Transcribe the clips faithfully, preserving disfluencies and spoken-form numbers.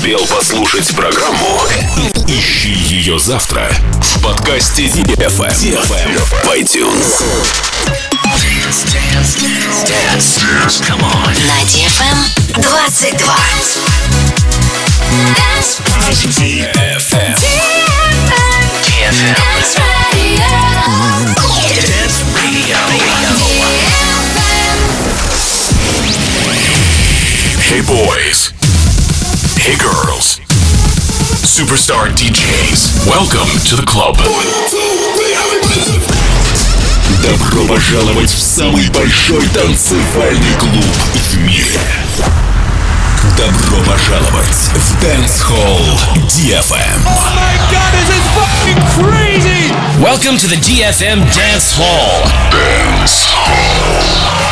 успел послушать программу, ищи ее завтра в подкасте ди эф эм в iTunes. Dance, dance, dance, dance, dance, come on. На ди эф эм двадцать два. Dance. ди эф эм. ди эф эм. ди эф эм. Dance Radio. Dance Radio. Hey boys. Hey girls. Superstar ди джейс. Welcome to the club. Добро пожаловать в самый большой танцевальный клуб в мире. Добро пожаловать в Dance Hall ди эф эм. Oh my God, this is fucking crazy! Welcome to the ди эф эм Dance Hall. Dance Hall.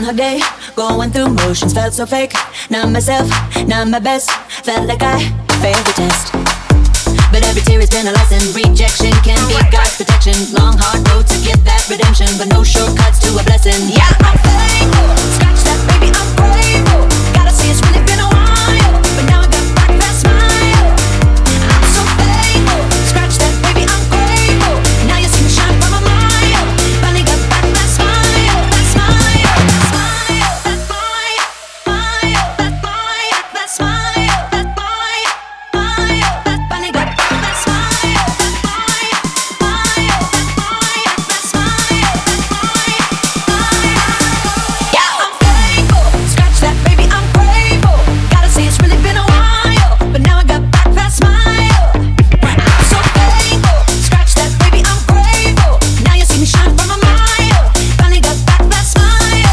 Groundhog Day, going through motions, felt so fake. Not myself, not my best. Felt like I failed the test. But every tear has been a lesson. Rejection can be God's protection. Long hard road to get that redemption, but no shortcuts to a blessing. Yeah, I'm thankful. Scratch that, baby, I'm grateful. Gotta say it's really been a while, but now I got back that smile. I'm so thankful. Scratch that, baby, I'm grateful. Now you see me shine from a mile. Finally got back that smile, that smile, smile, that smile, smile, that smile, that smile, that smile, smile, that finally got back that smile, that smile, smile, that smile, that smile, that smile, smile. Yeah, I'm thankful. Scratch that, baby, I'm grateful. Gotta say it's really been a while, but now I got back that smile. I'm so thankful. Scratch that, baby, I'm grateful. Now you see me shine from a mile. Finally got back that smile.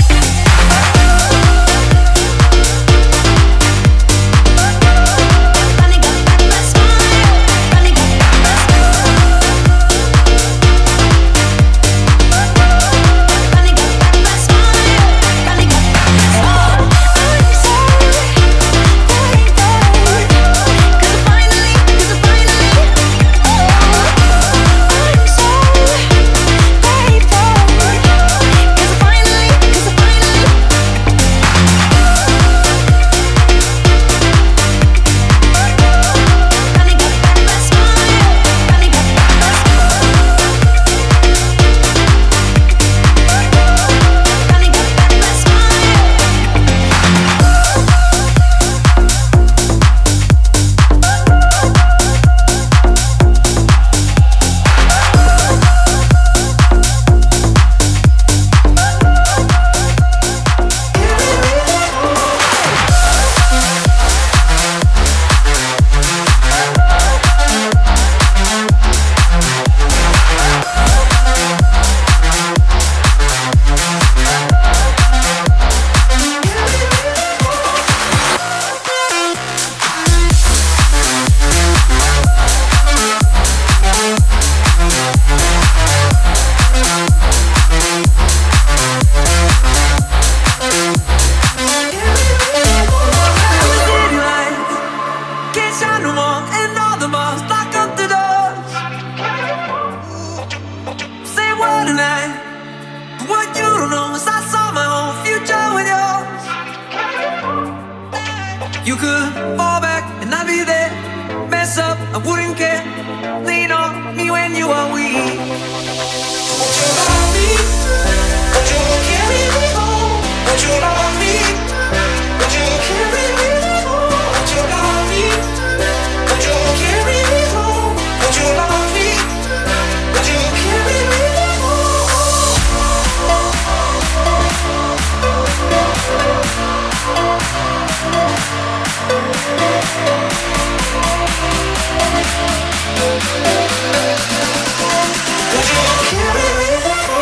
Finally got back that smile. Finally got back that smile. Finally got back that smile. Finally got back that smile. I'm so thankful. 'Cause I finally, 'cause I finally, oh, I'm so thankful. 'Cause I finally, 'cause I finally. Finally got back that smile. Finally got back that smile. Finally got back that smile. Can't shine no more, and all the bars lock up the doors. Say what tonight? What you don't know is I saw my whole future with yours. You could fall back and I'd be there. Mess up, I wouldn't care. Lean on me when you are weak. Would you love me? Would you carry me home? Would you love me? Would you carry me home? Would you love me? Would you carry me home? Would you love me? Would you carry me Would you carry me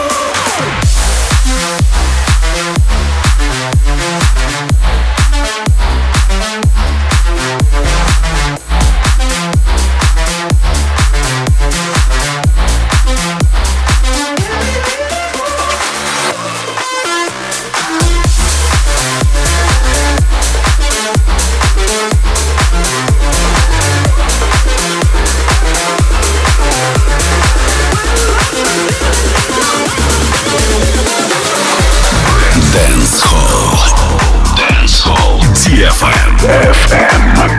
эф эм.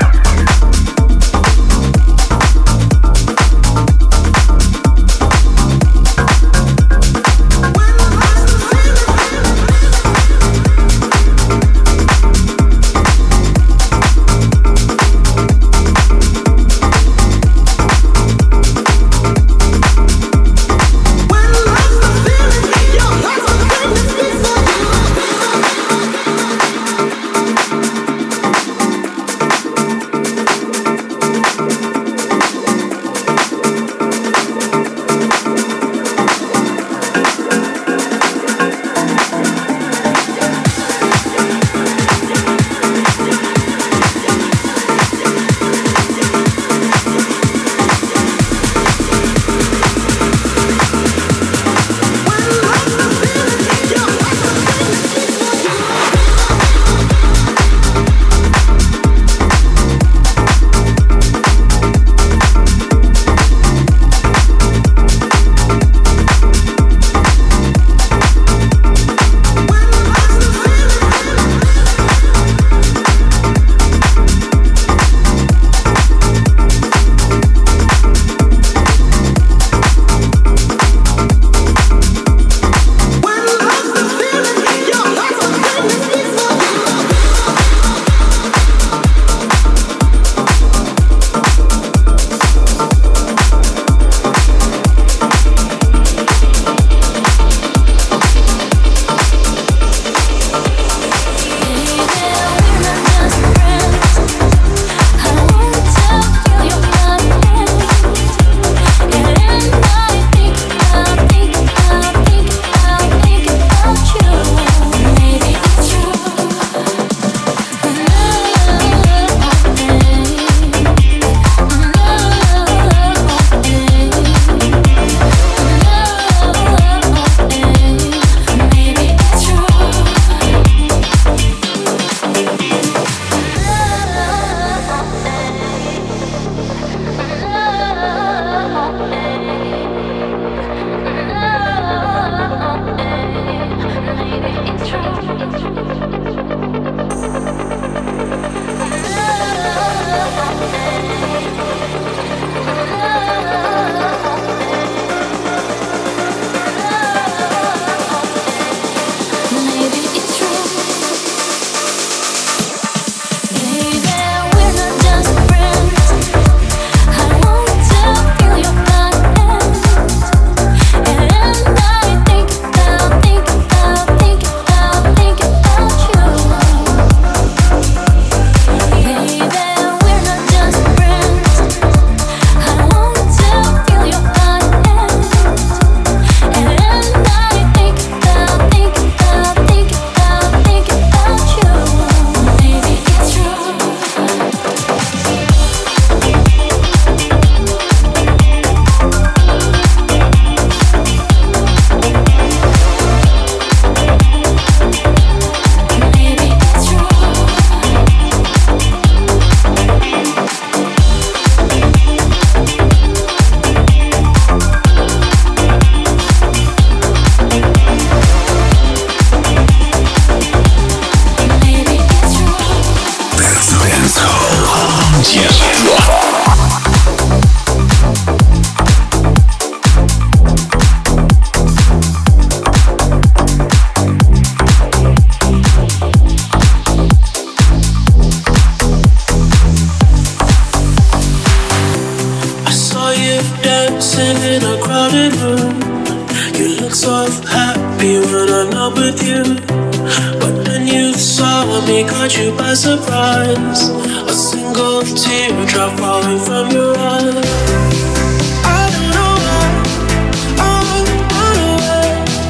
You look so happy when I'm not with you, but then you saw me, caught you by surprise. A single teardrop falling from your eye. I don't know why I run away.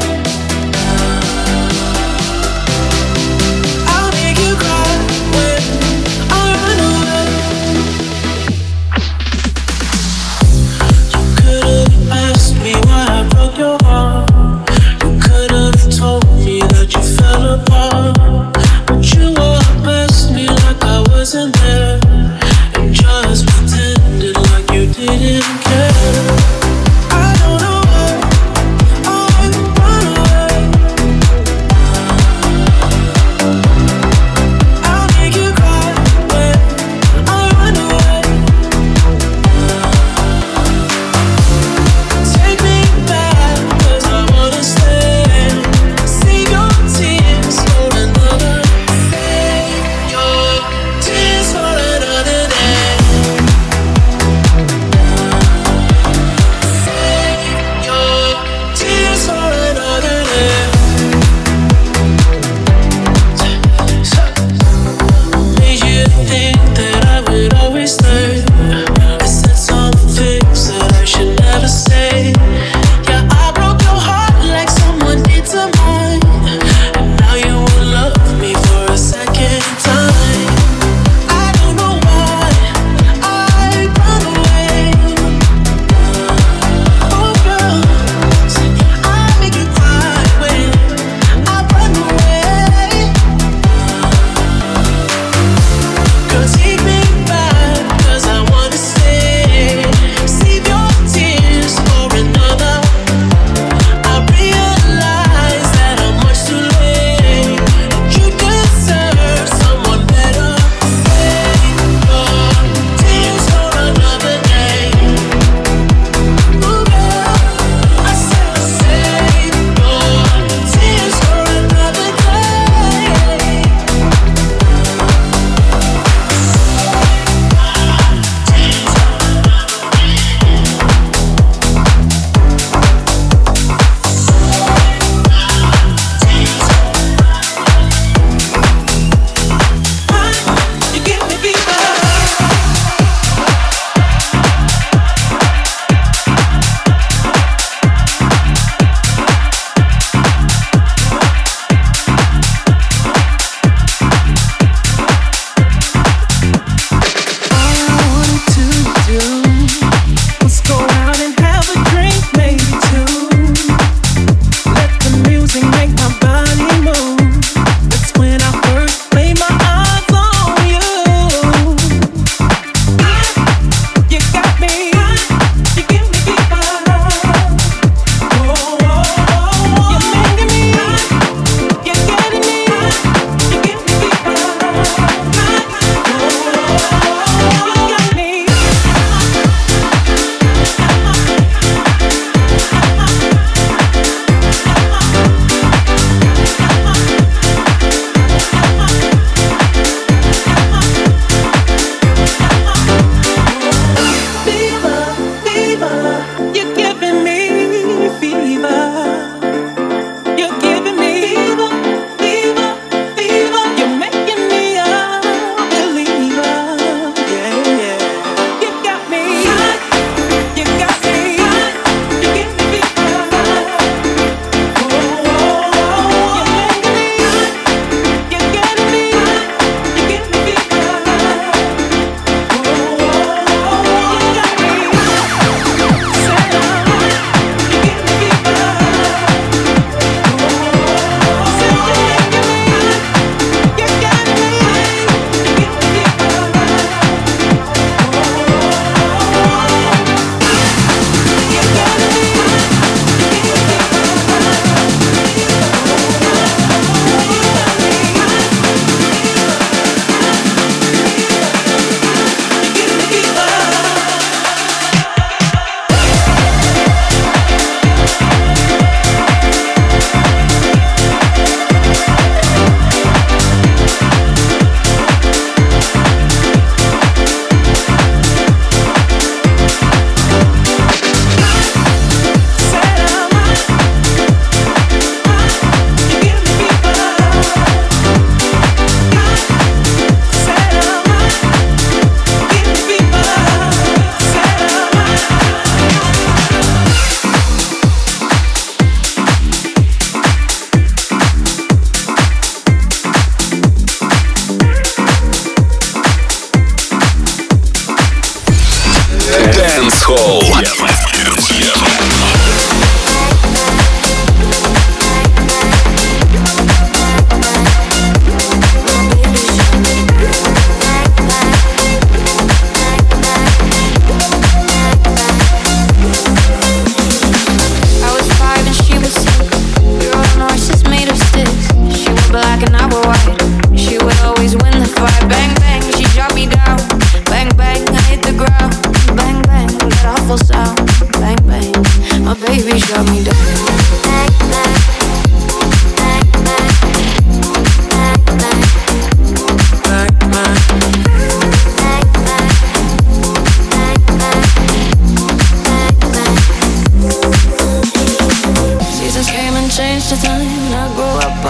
I'll make you cry when I run away. You could have asked me why I broke your heart. You could have told me that you fell apart, but you all-messed me like I wasn't there, and just pretended like you didn't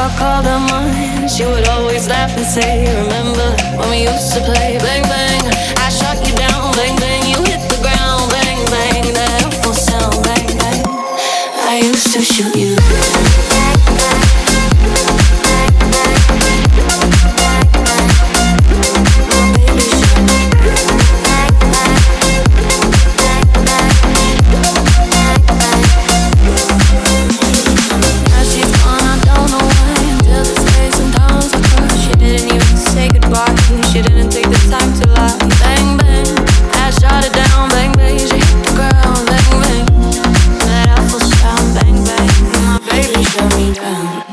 I called her mine, she would always laugh and say, remember when we used to play bang bang, I shot you down, bang bang, you hit the ground, bang bang, that awful sound, bang bang, I used to shoot you. She didn't take the time to lie. Bang bang, I shot it down. Bang bang, she hit the ground. Bang bang, that awful sound. Bang bang, my baby shut me down.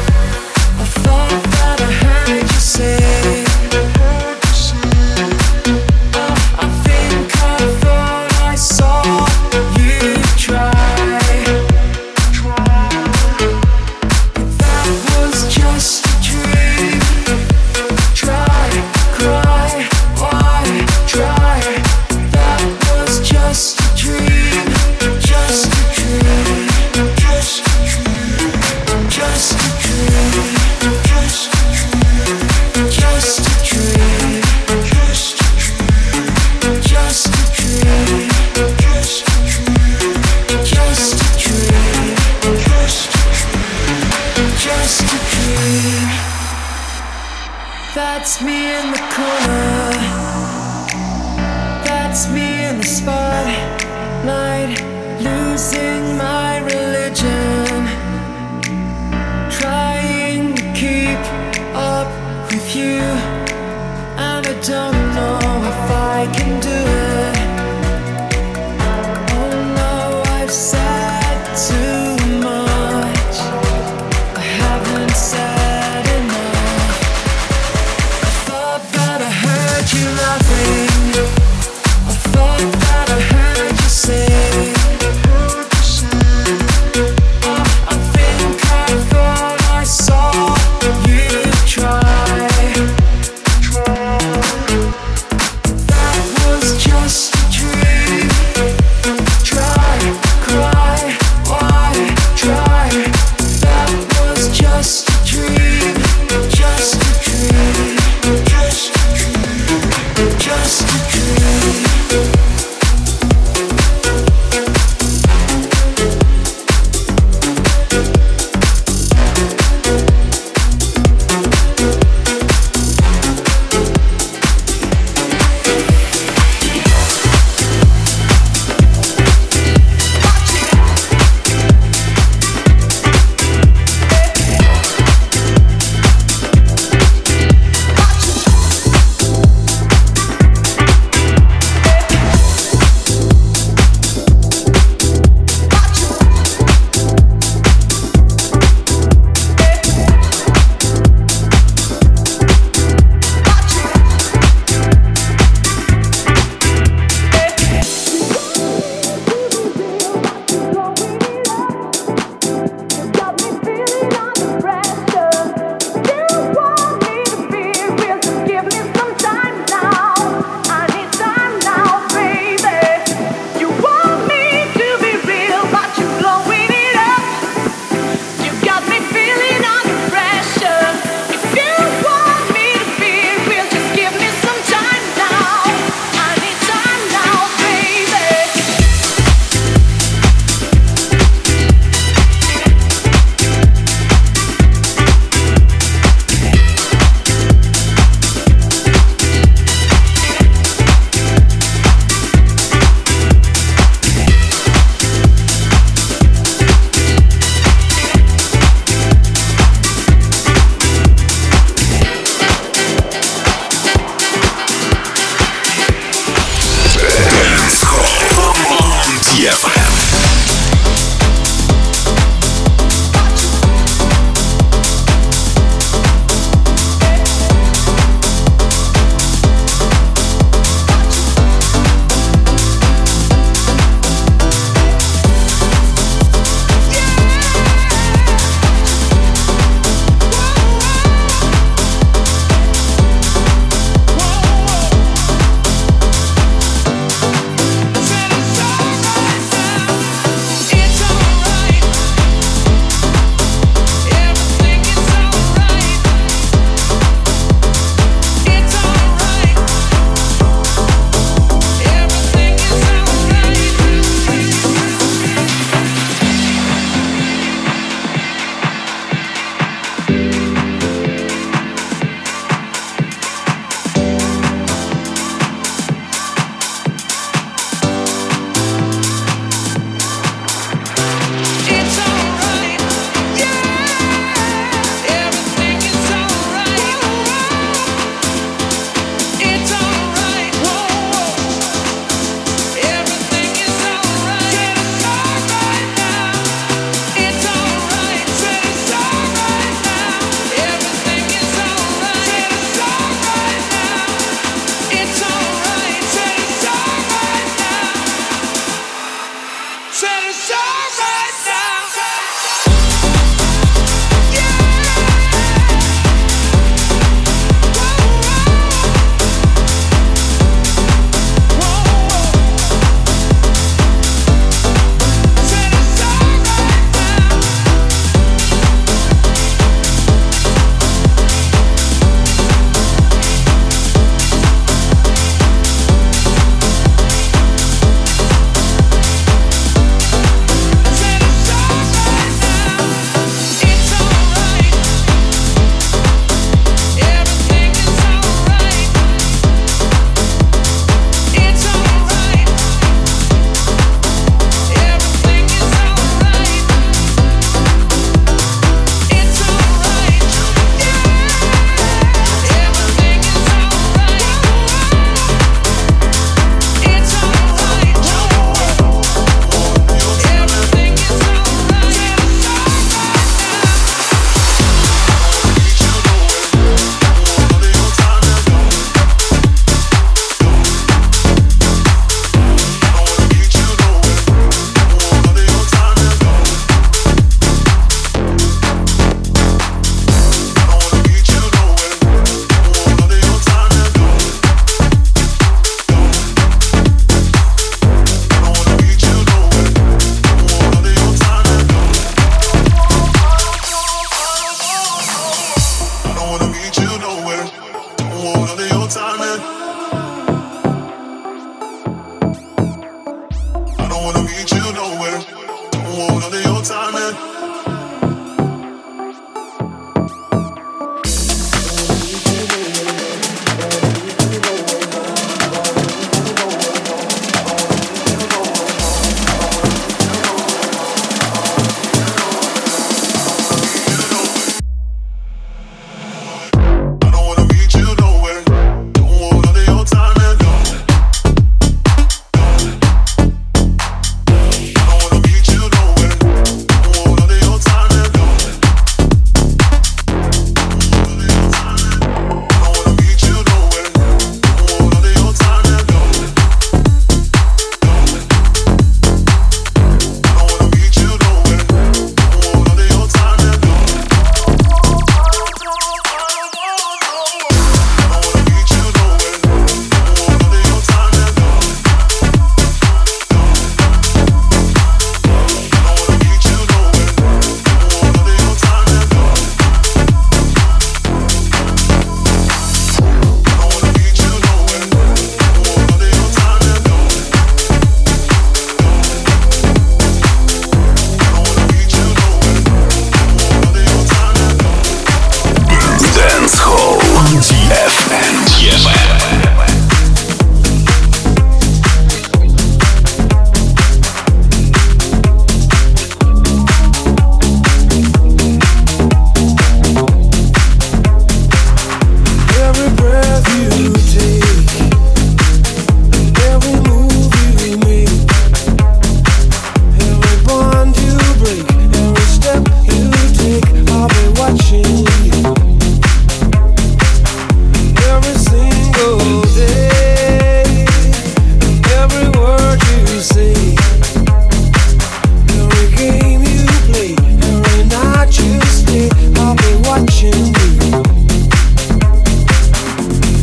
I thought that I heard you say That's me in the corner. That's me in the spotlight, losing my religion, trying to keep up with you, and I don't know if I can do it. Oh no, I've said too much. I haven't said enough. I thought that I heard you laughing. I thought that I heard you say, I, I think I thought I saw you try. That was just a dream. Try, cry, why try? That was just a dream. Just a dream. Just a dream.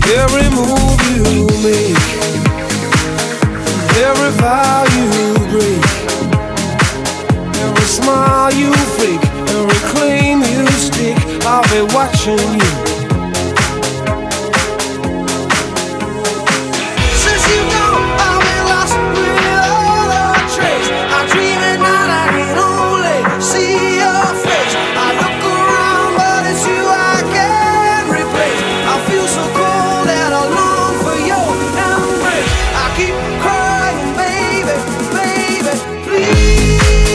every move you make, every vow you break, every smile you fake, every claim you stick, I'll be watching you. Since you gone, I've been lost without a trace. I dream at night, I can only see your face. I look around, but it's you I can't replace. I feel so cold and I long for your embrace. I keep crying, baby, baby, please.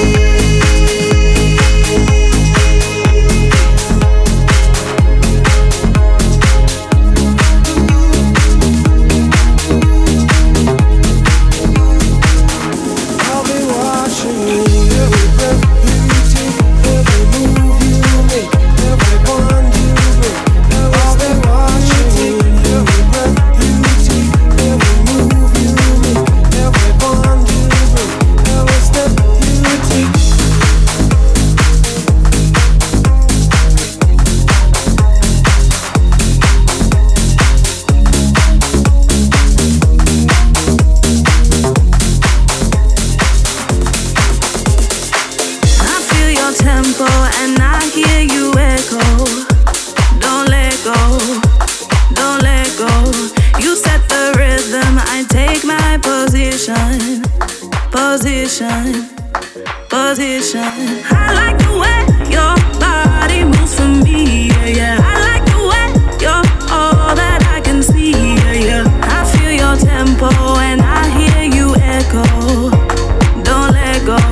Position, position. I like the way your body moves for me, yeah, yeah. I like the way you're all that I can see, yeah, yeah. I feel your tempo and I hear you echo. Don't let go.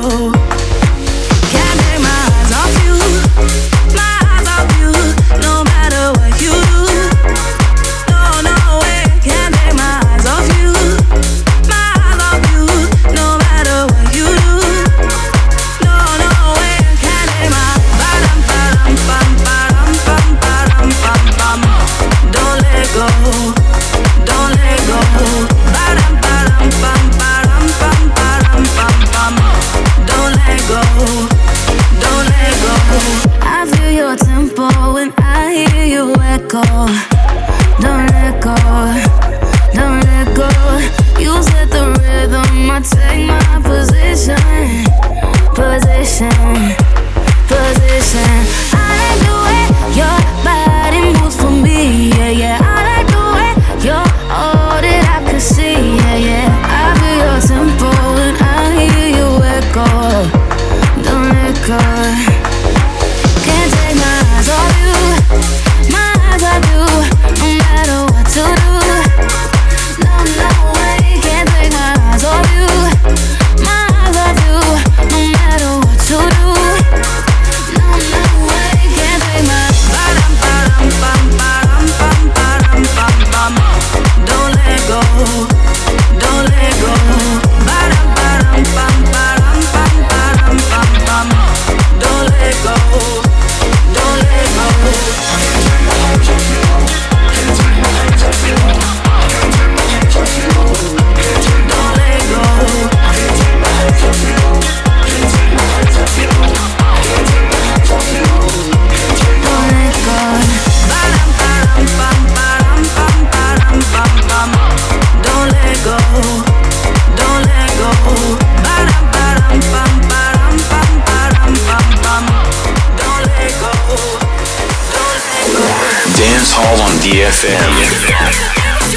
Can't take my eyes off you, my eyes off you. No matter what you do, no, no way. Can't take my eyes off you, my eyes off you. No matter what you do, no, no way. Can't take my ba-dum, ba-dum, bum, ba-dum, bum, ba-dum, bum, bum. Don't let go, don't let go. Ba-dum, ba-dum, bum, ba-dum, bum, ba-dum, bum, bum. Don't let go, don't let go. I feel your tempo when I hear you echo. Don't let go, don't let go. You set the rhythm, I take my position, position, position. I like the way your body moves for me, yeah, yeah. I like the way you're all that I can see, yeah, yeah. I feel your tempo when I hear you echo. Don't let go. Can't take my eyes off you, my eyes off you. No matter what to do, no, no way. Can't take my eyes off you, my eyes off you. No matter what to do, no, no way. Can't take my ba-dum, ba-dum, bum, ba-dum, bum, ba-dum, bum, bum. Don't let go, don't let go. Ba-dum, ba-dum, bum, ba-dum, bum, ba-dum, bum, bum. Don't let go, don't let go. Don't let go. Don't let go. Ba-dum, ba-dum, bum, ba-dum, bum, ba-dum, bum, bum. Don't let go. Don't let go. Ba-dum, ba-dum, bum, ba-dum, bum, ba-dum, bum, bum. Don't let go. Don't let go. Dance Hall on D F M.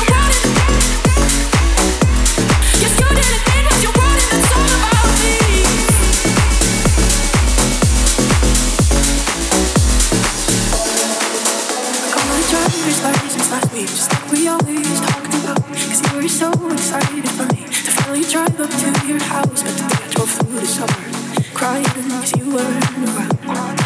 Just like we always talked about. Cause you were so excited for me to finally drive up to your house. But today I drove through the summer crying cause you weren't around.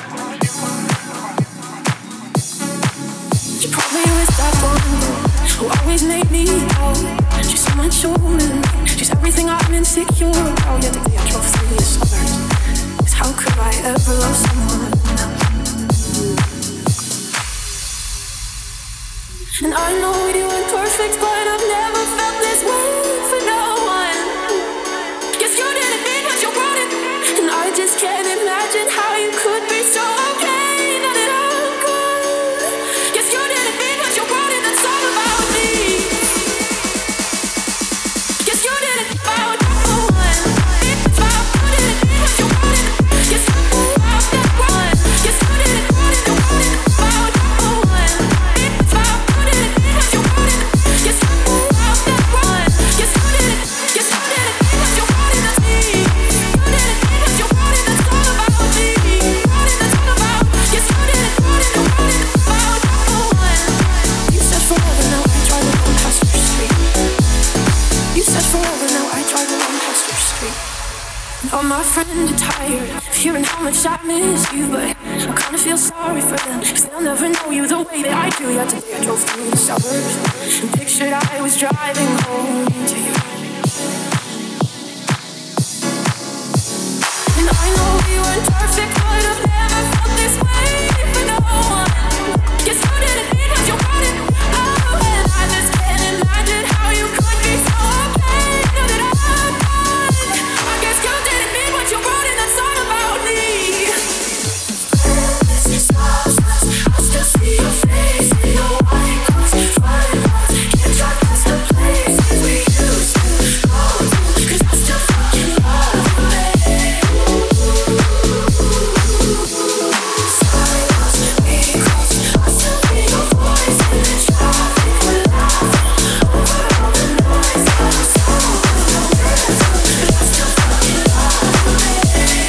You probably was that one who always made me out. She's so much older than me. She's everything I'm insecure about. Yeah, today I drove through the suburbs. Cause how could I ever love someone else? And I know you weren't perfect, but I've never felt this way for no one. Yes, you didn't mean what you wanted, and I just can't imagine how you could be so okay. Now that I'm gone. Yes, you didn't mean what you wanted, that's all about me. All my friends are tired of hearing how much I miss you, but I kinda feel sorry for them, cause they'll never know you the way that I do. Yeah, today I drove through the suburbs and pictured I was driving home to you. And I know we weren't perfect, but I've never felt this way for no one. Guess you didn't need what you wanted. Oh, and I just can't imagine how you could be so okay now that I'm gone. I guess you didn't mean what you wrote in that song about me. I still see your face in your white clothes, flying off. Can't drive past the places we used to go to, 'cause I still fucking love you, babe. Silence, we close. I still hear your voice in the traffic. We're laughing over all the noise. I'm so convinced, but I still fucking love you, babe.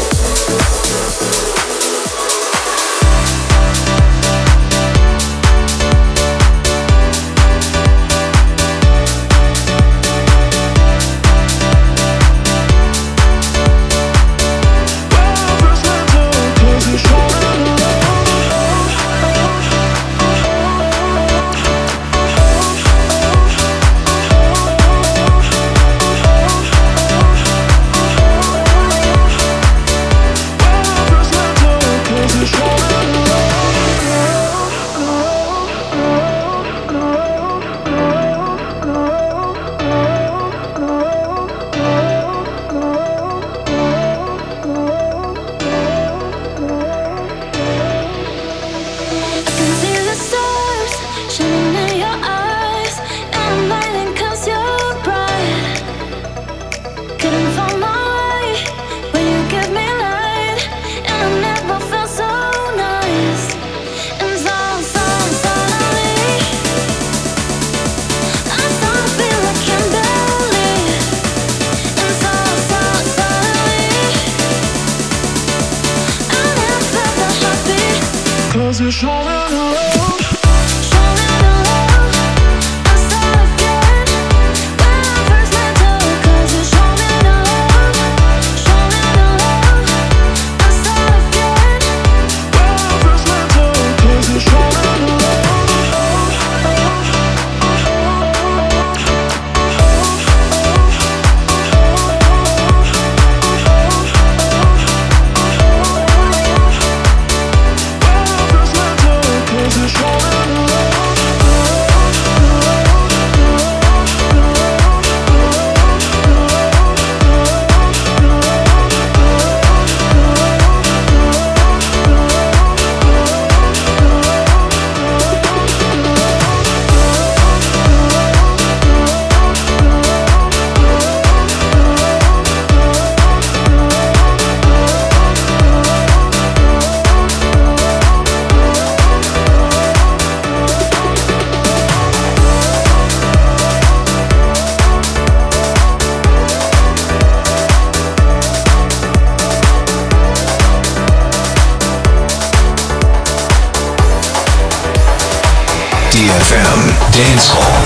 D F M Dance Hall.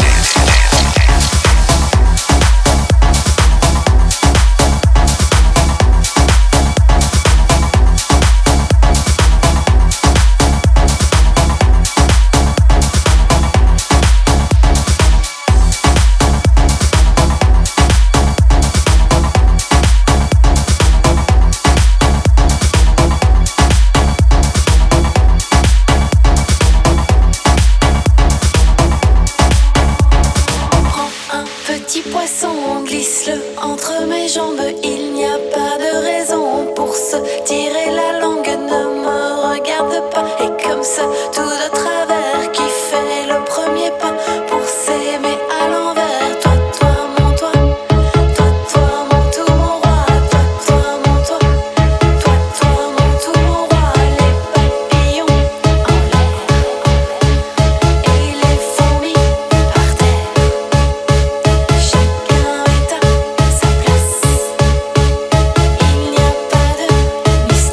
Chacun est à sa place. Il n'y a pas de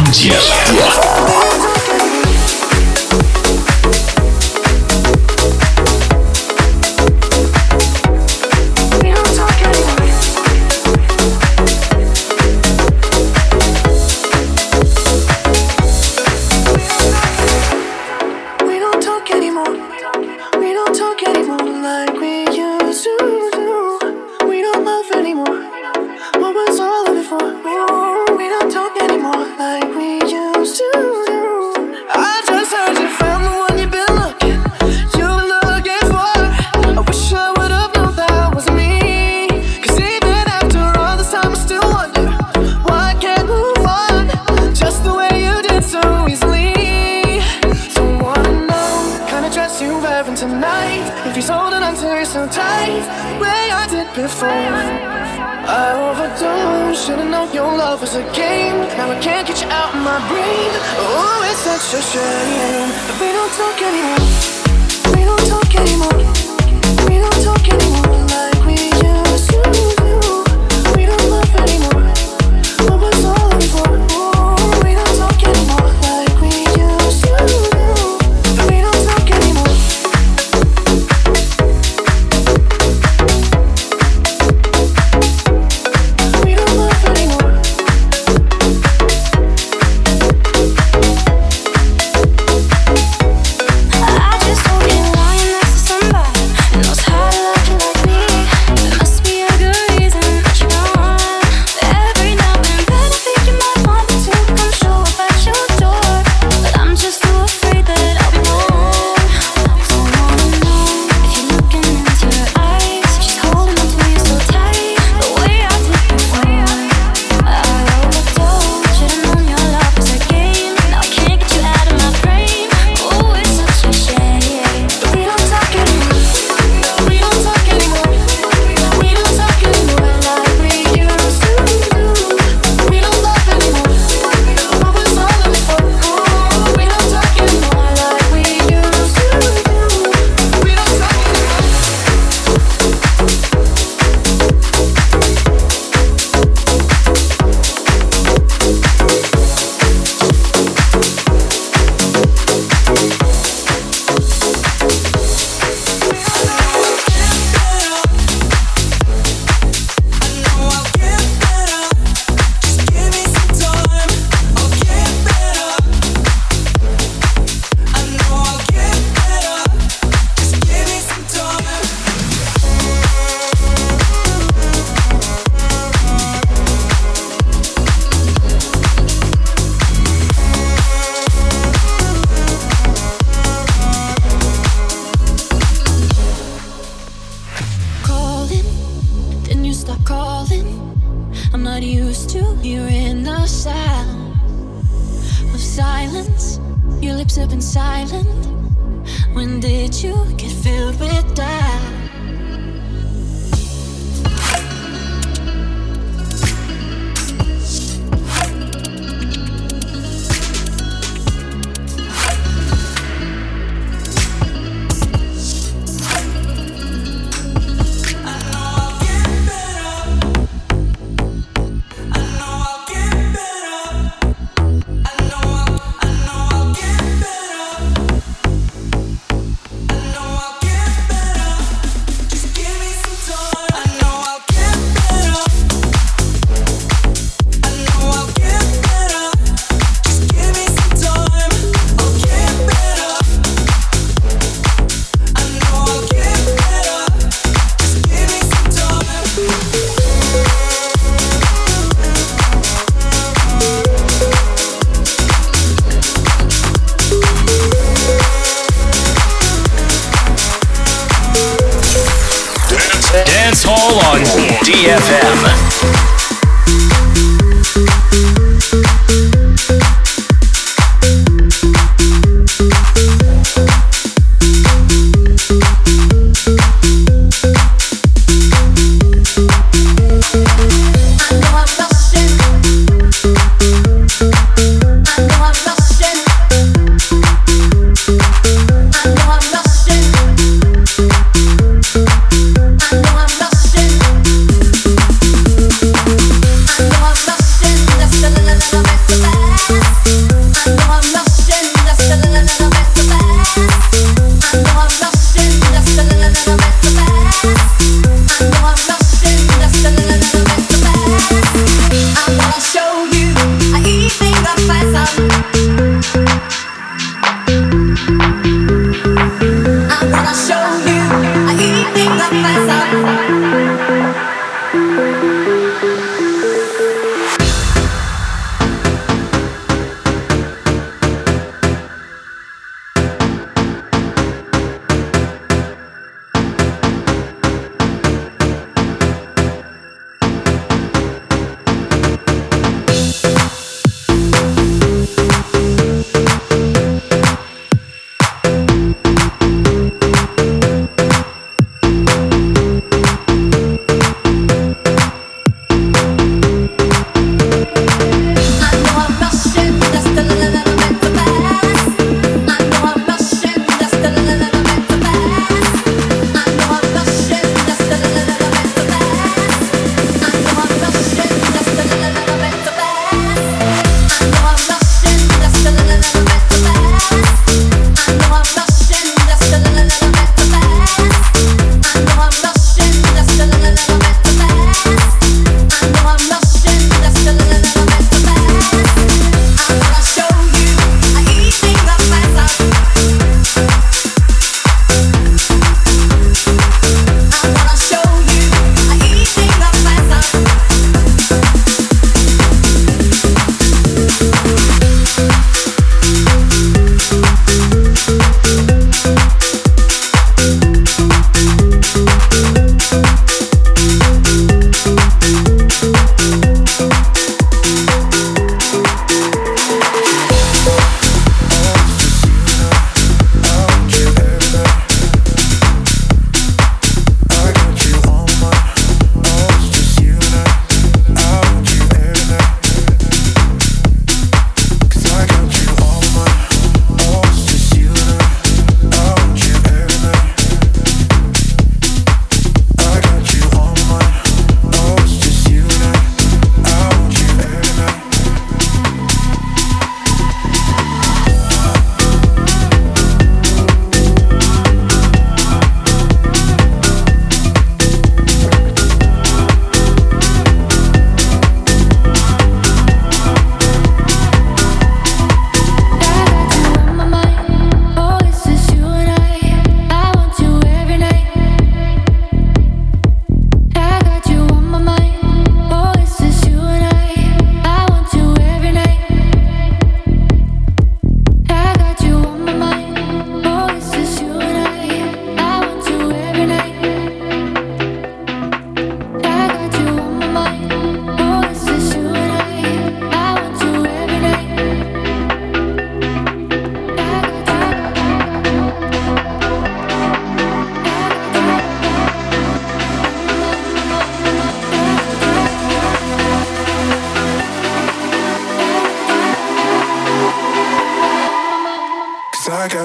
I know I'll get better.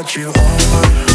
got you on.